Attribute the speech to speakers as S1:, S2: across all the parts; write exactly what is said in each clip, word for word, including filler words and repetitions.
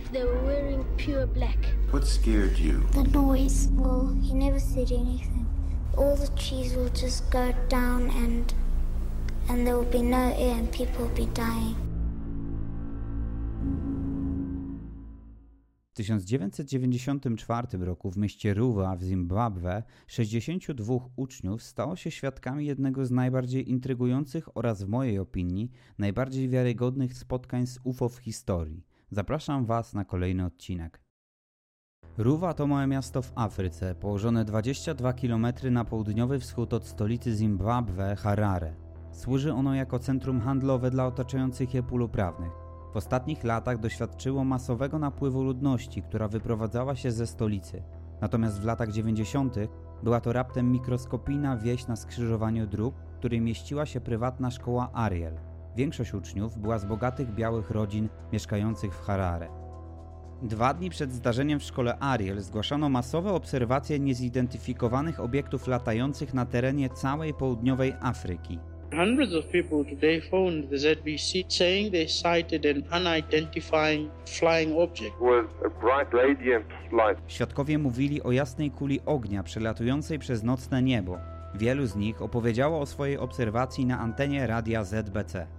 S1: They were wearing pure black.
S2: What scared you?
S3: The noise. Well, he never said anything. All the trees will just go down and and there will be no air and people will be dying.
S4: W tysiąc dziewięćset dziewięćdziesiątym czwartym roku w mieście Ruwa w Zimbabwe sześćdziesięciu dwóch uczniów stało się świadkami jednego z najbardziej intrygujących oraz w mojej opinii najbardziej wiarygodnych spotkań z U F O w historii. Zapraszam Was na kolejny odcinek. Ruwa to małe miasto w Afryce, położone dwadzieścia dwa kilometry na południowy wschód od stolicy Zimbabwe, Harare. Służy ono jako centrum handlowe dla otaczających je pól uprawnych. W ostatnich latach doświadczyło masowego napływu ludności, która wyprowadzała się ze stolicy. Natomiast w latach dziewięćdziesiątych była to raptem mikroskopijna wieś na skrzyżowaniu dróg, w której mieściła się prywatna szkoła Ariel. Większość uczniów była z bogatych białych rodzin mieszkających w Harare. Dwa dni przed zdarzeniem w szkole Ariel zgłaszano masowe obserwacje niezidentyfikowanych obiektów latających na terenie całej południowej Afryki.
S5: Hundreds of people today phoned the Z B C saying they sighted an unidentifying flying object.
S6: Was a bright radiant light.
S4: Świadkowie mówili o jasnej kuli ognia przelatującej przez nocne niebo. Wielu z nich opowiedziało o swojej obserwacji na antenie radia Z B C.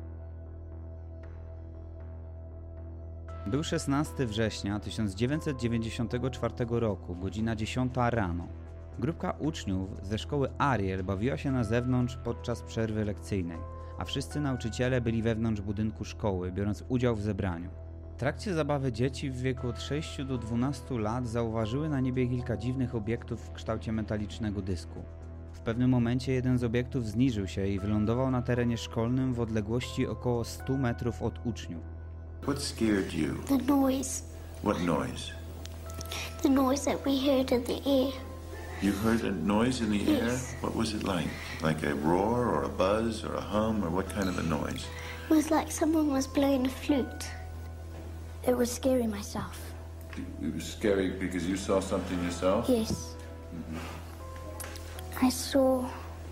S4: Był szesnastego września tysiąc dziewięćset dziewięćdziesiątego czwartego roku, godzina dziesiąta rano. Grupka uczniów ze szkoły Ariel bawiła się na zewnątrz podczas przerwy lekcyjnej, a wszyscy nauczyciele byli wewnątrz budynku szkoły, biorąc udział w zebraniu. W trakcie zabawy dzieci w wieku od sześciu do dwunastu lat zauważyły na niebie kilka dziwnych obiektów w kształcie metalicznego dysku. W pewnym momencie jeden z obiektów zniżył się i wylądował na terenie szkolnym w odległości około stu metrów od uczniów.
S2: What scared you?
S3: The noise.
S2: What noise?
S3: The noise that we heard in the air.
S2: You heard a noise in the
S3: Yes.
S2: air? What was it like? Like a roar or a buzz or a hum or what kind of a noise?
S3: It was like someone was blowing a flute. It was scary myself.
S2: It was scary because you saw something yourself?
S3: Yes. Mm-hmm. I saw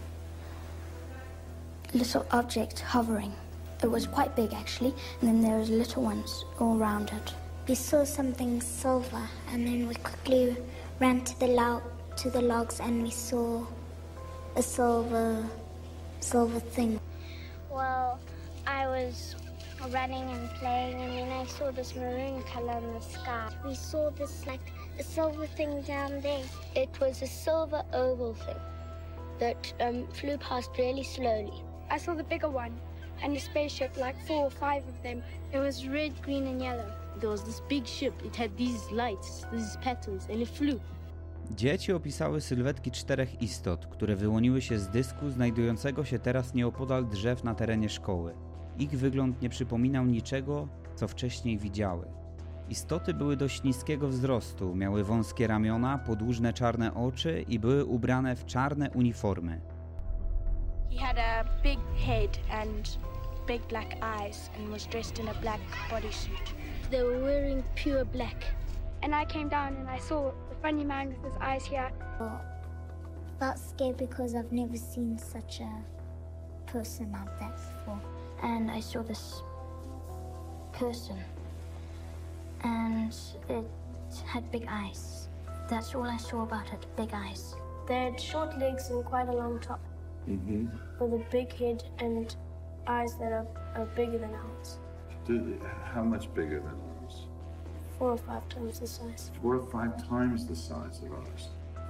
S3: a little object hovering. It was quite big actually, and then there was little ones all around it. We saw something silver, and then we quickly ran to the log, to the logs, and we saw a silver, silver thing.
S1: Well, I was running and playing, and then I saw this maroon color in the sky. We saw this, like, a silver thing down there. It was a silver oval thing that um, flew past really slowly.
S7: I saw the bigger one and a spaceship, like four or five of them. It was red, green and yellow.
S8: There was this big ship. It had these lights, these patterns, and it flew.
S4: Dzieci opisały sylwetki czterech istot, które wyłoniły się z dysku znajdującego się teraz nieopodal drzew na terenie szkoły. Ich wygląd nie przypominał niczego, co wcześniej widziały. Istoty były dość niskiego wzrostu, miały wąskie ramiona, podłużne czarne oczy i były ubrane w czarne uniformy.
S7: He had a big head and big black eyes and was dressed in a black bodysuit.
S1: They were wearing pure black.
S7: And I came down and I saw the funny man with his eyes here.
S3: I felt scared because I've never seen such a person like that before. And I saw this person, and it had big eyes. That's all I saw about it, big eyes.
S7: They had short legs and quite a long top.
S2: Mm-hmm.
S7: With a big head and eyes that are, are bigger than ours.
S2: How much bigger than ours?
S7: Four or five times the size.
S2: Four or five times the size of ours.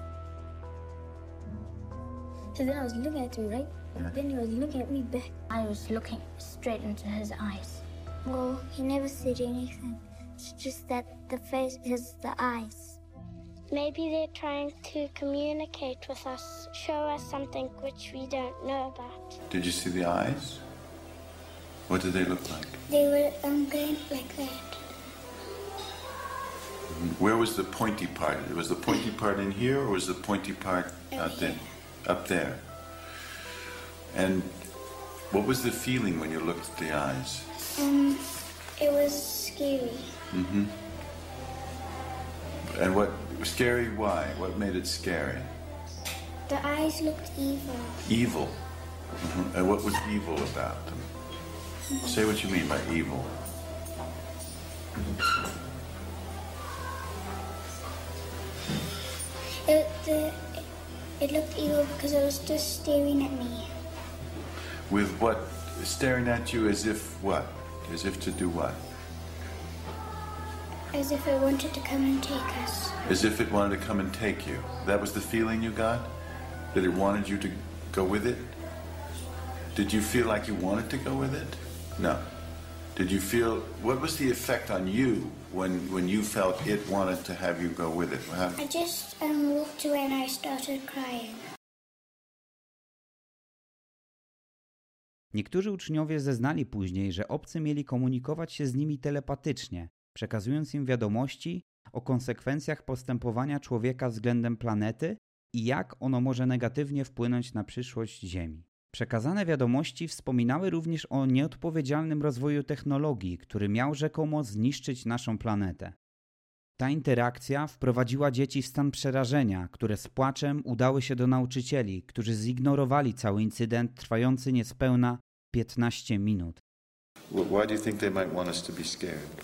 S3: So then I was looking at him, right?
S2: Yeah.
S3: Then he was looking at me back. I was looking straight into his eyes. Well, he never said anything. It's just that the face is the eyes.
S1: Maybe they're trying to communicate with us, show us something which we don't know about.
S2: Did you see the eyes? What did they look like?
S3: They were um, going like that.
S2: Where was the pointy part? Was the pointy part in here or was the pointy part out there? Up there. And what was the feeling when you looked at the eyes?
S3: Um, it was scary.
S2: Mm-hmm. And what, scary why? What made it scary?
S3: The eyes looked evil.
S2: Evil? Mm-hmm. And what was evil about them? Say what you mean by evil.
S3: the it looked evil because it was just staring at me.
S2: With what? Staring at you as if what? As if to do what?
S3: As if it wanted to come and take us.
S2: As if it wanted to come and take you. That was the feeling you got? That it wanted you to go with it? Did you feel like you wanted to go with it? No. Did you feel, what was the effect on you when, when you felt it wanted to have you go with it? How...
S3: I just um, walked away and I started crying.
S4: Niektórzy uczniowie zeznali później, że obcy mieli komunikować się z nimi telepatycznie, przekazując im wiadomości o konsekwencjach postępowania człowieka względem planety i jak ono może negatywnie wpłynąć na przyszłość Ziemi. Przekazane wiadomości wspominały również o nieodpowiedzialnym rozwoju technologii, który miał rzekomo zniszczyć naszą planetę. Ta interakcja wprowadziła dzieci w stan przerażenia, które z płaczem udały się do nauczycieli, którzy zignorowali cały incydent trwający niespełna piętnaście minut.
S2: Why do you think they might want us to be scared?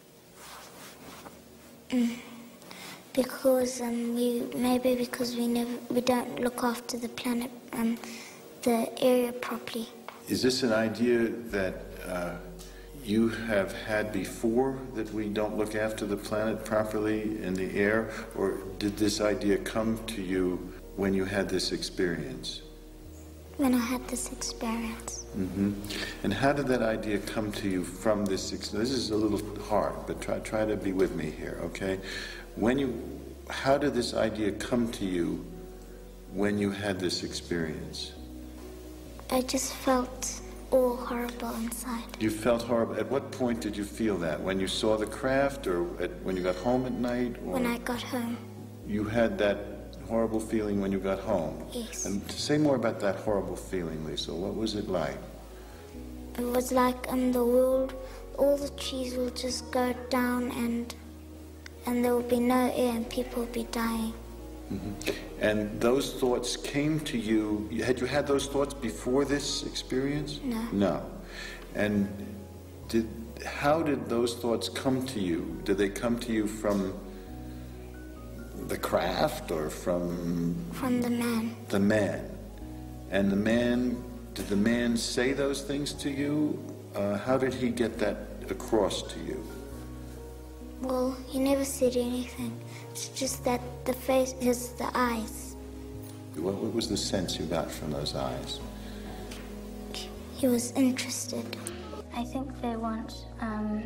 S3: Mm. Because um, we maybe because we never we don't look after the planet um the area properly.
S2: Is this an idea that uh, you have had before, that we don't look after the planet properly in the air, or did this idea come to you when you had this experience?
S3: When I had this experience.
S2: Mm-hmm. And how did that idea come to you from this experience? This is a little hard, but try try to be with me here, okay? When you, how did this idea come to you when you had this experience?
S3: I just felt all horrible inside.
S2: You felt horrible. At what point did you feel that? When you saw the craft, or at, when you got home at night? Or
S3: when I got home.
S2: You had that horrible feeling when you got home?
S3: Yes.
S2: And say more about that horrible feeling, Lisa. What was it like?
S3: It was like um, the world, all the trees will just go down and and there will be no air and people will be dying.
S2: Mm-hmm. And those thoughts came to you, had you had those thoughts before this experience?
S3: No.
S2: No. And did, how did those thoughts come to you? Did they come to you from the craft or from...
S3: From the man.
S2: The man. And the man, did the man say those things to you? Uh, how did he get that across to you?
S3: Well, he never said anything. It's just that the face is the eyes.
S2: What, what was the sense you got from those eyes?
S3: He was interested.
S1: I think they want um,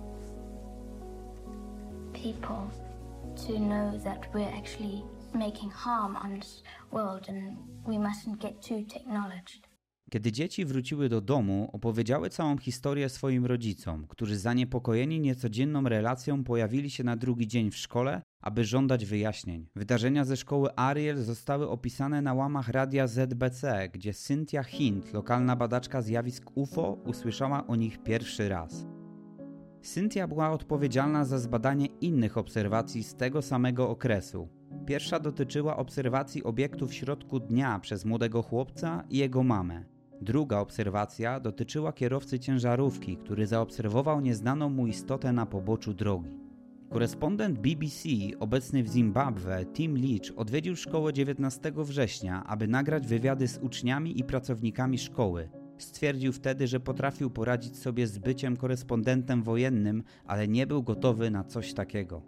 S1: people to know that we're actually making harm on this world and we mustn't get too technologized.
S4: Kiedy dzieci wróciły do domu, opowiedziały całą historię swoim rodzicom, którzy zaniepokojeni niecodzienną relacją pojawili się na drugi dzień w szkole, aby żądać wyjaśnień. Wydarzenia ze szkoły Ariel zostały opisane na łamach radia Z B C, gdzie Cynthia Hint, lokalna badaczka zjawisk U F O, usłyszała o nich pierwszy raz. Cynthia była odpowiedzialna za zbadanie innych obserwacji z tego samego okresu. Pierwsza dotyczyła obserwacji obiektów w środku dnia przez młodego chłopca i jego mamę. Druga obserwacja dotyczyła kierowcy ciężarówki, który zaobserwował nieznaną mu istotę na poboczu drogi. Korespondent B B C, obecny w Zimbabwe, Tim Leach, odwiedził szkołę dziewiętnastego września, aby nagrać wywiady z uczniami i pracownikami szkoły. Stwierdził wtedy, że potrafił poradzić sobie z byciem korespondentem wojennym, ale nie był gotowy na coś takiego.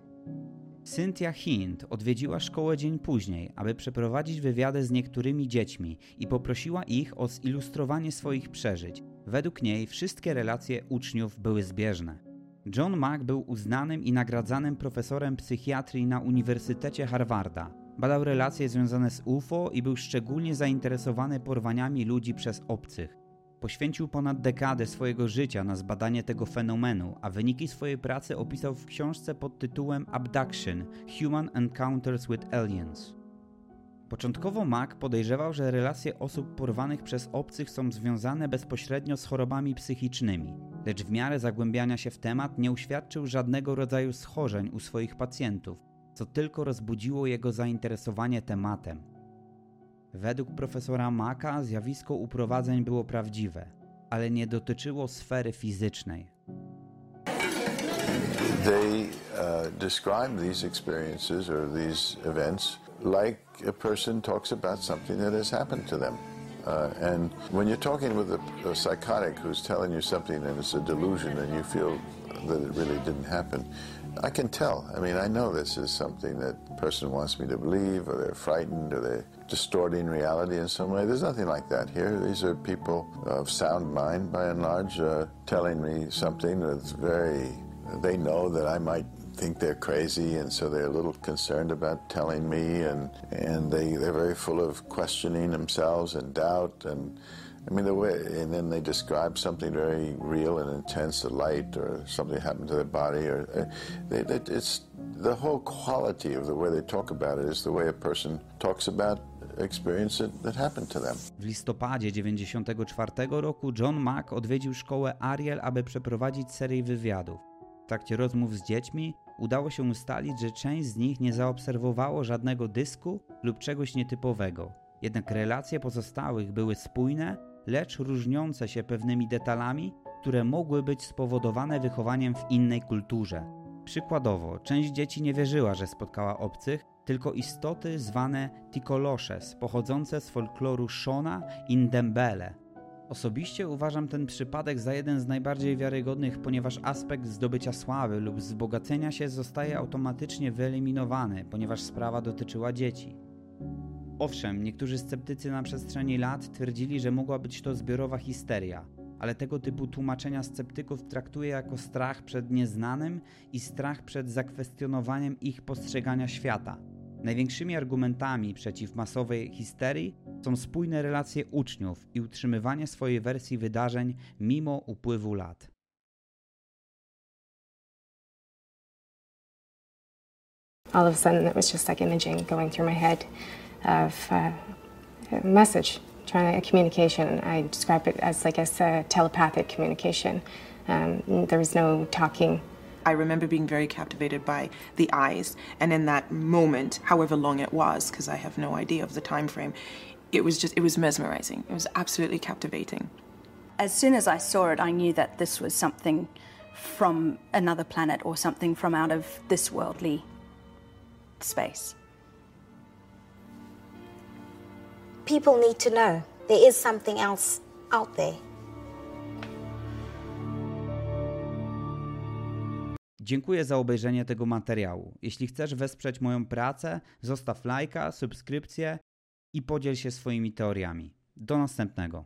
S4: Cynthia Hint odwiedziła szkołę dzień później, aby przeprowadzić wywiady z niektórymi dziećmi i poprosiła ich o zilustrowanie swoich przeżyć. Według niej wszystkie relacje uczniów były zbieżne. John Mack był uznanym i nagradzanym profesorem psychiatrii na Uniwersytecie Harvarda. Badał relacje związane z U F O i był szczególnie zainteresowany porwaniami ludzi przez obcych. Poświęcił ponad dekadę swojego życia na zbadanie tego fenomenu, a wyniki swojej pracy opisał w książce pod tytułem Abduction – Human Encounters with Aliens. Początkowo Mack podejrzewał, że relacje osób porwanych przez obcych są związane bezpośrednio z chorobami psychicznymi, lecz w miarę zagłębiania się w temat nie uświadczył żadnego rodzaju schorzeń u swoich pacjentów, co tylko rozbudziło jego zainteresowanie tematem. Według profesora Macka zjawisko uprowadzeń było prawdziwe, ale nie dotyczyło sfery fizycznej.
S2: They uh, describe these experiences or these events like a person talks about something that has happened to them. Uh, and when you're talking with a, a psychotic who's telling you something and it's a delusion and you feel that it really didn't happen, I can tell. I mean, I know this is something that the person wants me to believe, or they're frightened, or they're distorting reality in some way. There's nothing like that here. These are people of sound mind, by and large, uh, telling me something that's very... They know that I might think they're crazy, and so they're a little concerned about telling me, and and they they're very full of questioning themselves and doubt, and I mean the way, and then they describe something very real and intense, a light or something happened to their body, or uh, they, they, it's the whole quality of the way they talk about it is the way a person talks about experience that, that happened to them.
S4: W listopadzie dziewięćdziesiątego czwartego roku John Mack odwiedził szkołę Ariel, aby przeprowadzić serię wywiadów. W trakcie rozmów z dziećmi udało się ustalić, że część z nich nie zaobserwowało żadnego dysku lub czegoś nietypowego. Jednak relacje pozostałych były spójne, lecz różniące się pewnymi detalami, które mogły być spowodowane wychowaniem w innej kulturze. Przykładowo, część dzieci nie wierzyła, że spotkała obcych, tylko istoty zwane Tikoloshes, pochodzące z folkloru Shona i Ndembele. Osobiście uważam ten przypadek za jeden z najbardziej wiarygodnych, ponieważ aspekt zdobycia sławy lub wzbogacenia się zostaje automatycznie wyeliminowany, ponieważ sprawa dotyczyła dzieci. Owszem, niektórzy sceptycy na przestrzeni lat twierdzili, że mogła być to zbiorowa histeria, ale tego typu tłumaczenia sceptyków traktuję jako strach przed nieznanym i strach przed zakwestionowaniem ich postrzegania świata. Największymi argumentami przeciw masowej histerii są spójne relacje uczniów i utrzymywanie swojej wersji wydarzeń mimo upływu lat.
S9: All of a sudden it was just like imaging going through my head of uh, a message, trying to, communication. I describe it as like a telepathic communication. Um, there was no talking.
S10: I remember being very captivated by the eyes, and in that moment, however long it was, because I have no idea of the time frame, it was just, it was mesmerizing. It was absolutely captivating.
S11: As soon as I saw it, I knew that this was something from another planet or something from out of this worldly space.
S12: People need to know there is something else out there.
S4: Dziękuję za obejrzenie tego materiału. Jeśli chcesz wesprzeć moją pracę, zostaw lajka, subskrypcję i podziel się swoimi teoriami. Do następnego.